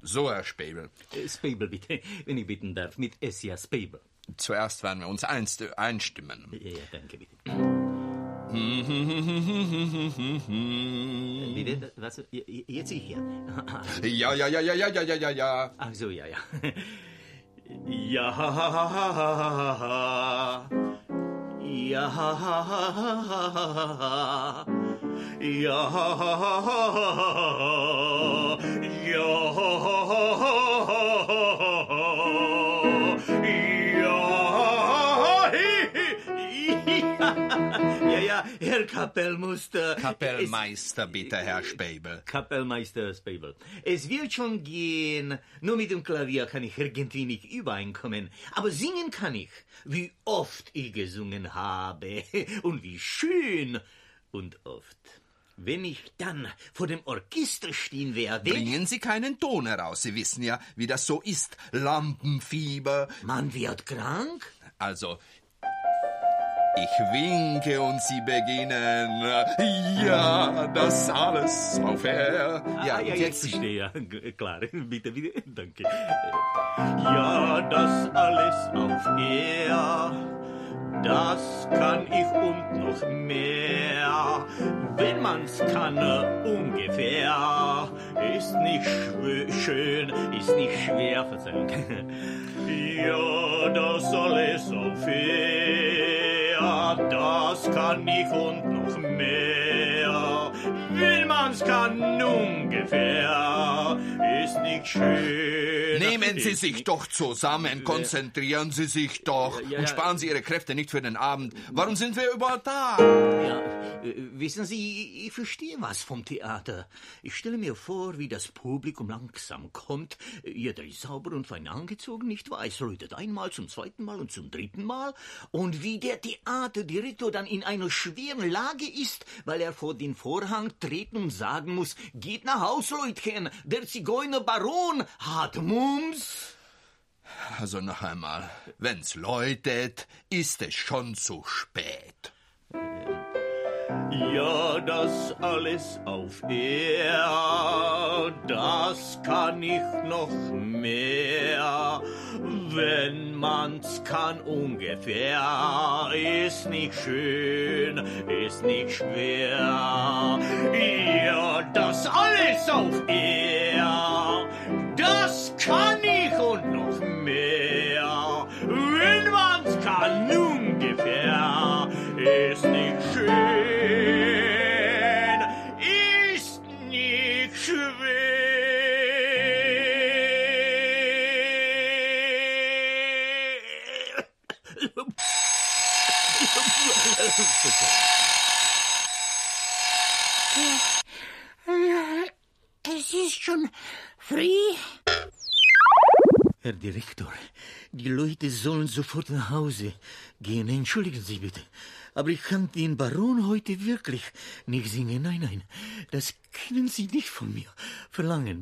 So, Herr Späbel. Späbel, bitte, wenn ich bitten darf, mit S, ja, Späbel. Zuerst werden wir uns einstimmen. Ja, danke, bitte. Bitte, was? Jetzt ich hier. Ja. Ach so, ja. Ja, Herr Kapellmeister. Kapellmeister, bitte, Herr Späbel. Kapellmeister Späbel. Es wird schon gehen. Nur mit dem Klavier kann ich irgendwie nicht übereinkommen. Aber singen kann ich. Wie oft ich gesungen habe. Und wie schön. Und oft. Wenn ich dann vor dem Orchester stehen werde... Bringen Sie keinen Ton heraus. Sie wissen ja, wie das so ist. Lampenfieber. Man wird krank? Also... Ich winke und Sie beginnen. Ja, das alles auf Air. Ja, jetzt verstehe, ja. Klar, bitte, danke. Ja, das alles auf Air, das kann ich und noch mehr. Wenn man's kann, ungefähr, ist nicht schön, ist nicht schwer, Verzeihung. Ja, das alles auf Air, das kann ich und noch mehr. Will man's kann ungefähr, ist nicht schön. Nehmen Sie sich doch zusammen, konzentrieren Sie sich doch und sparen Sie Ihre Kräfte nicht für den Abend. Warum sind wir überhaupt da? Ja, wissen Sie, ich verstehe was vom Theater. Ich stelle mir vor, wie das Publikum langsam kommt. Jeder ist sauber und fein angezogen, nicht wahr? Es läutet einmal, zum zweiten Mal und zum dritten Mal. Und wie der Theaterdirektor dann in einer schweren Lage ist, weil er vor den Vorhang treten und sagen muss, geht nach Haus, Leutchen, der Zigeunerbaron hat Mumps. Also noch einmal, wenn's läutet, ist es schon zu spät. Ja, das alles auf Air, das kann ich noch mehr. Wenn man's kann ungefähr, ist nicht schön, ist nicht schwer. Ja, das alles auf Air, das kann ich und noch mehr. Wenn man's kann ungefähr, ist nicht schön. Es ist schon früh. Herr Direktor, die Leute sollen sofort nach Hause gehen. Entschuldigen Sie bitte, aber ich kann den Baron heute wirklich nicht singen. Nein, das können Sie nicht von mir verlangen.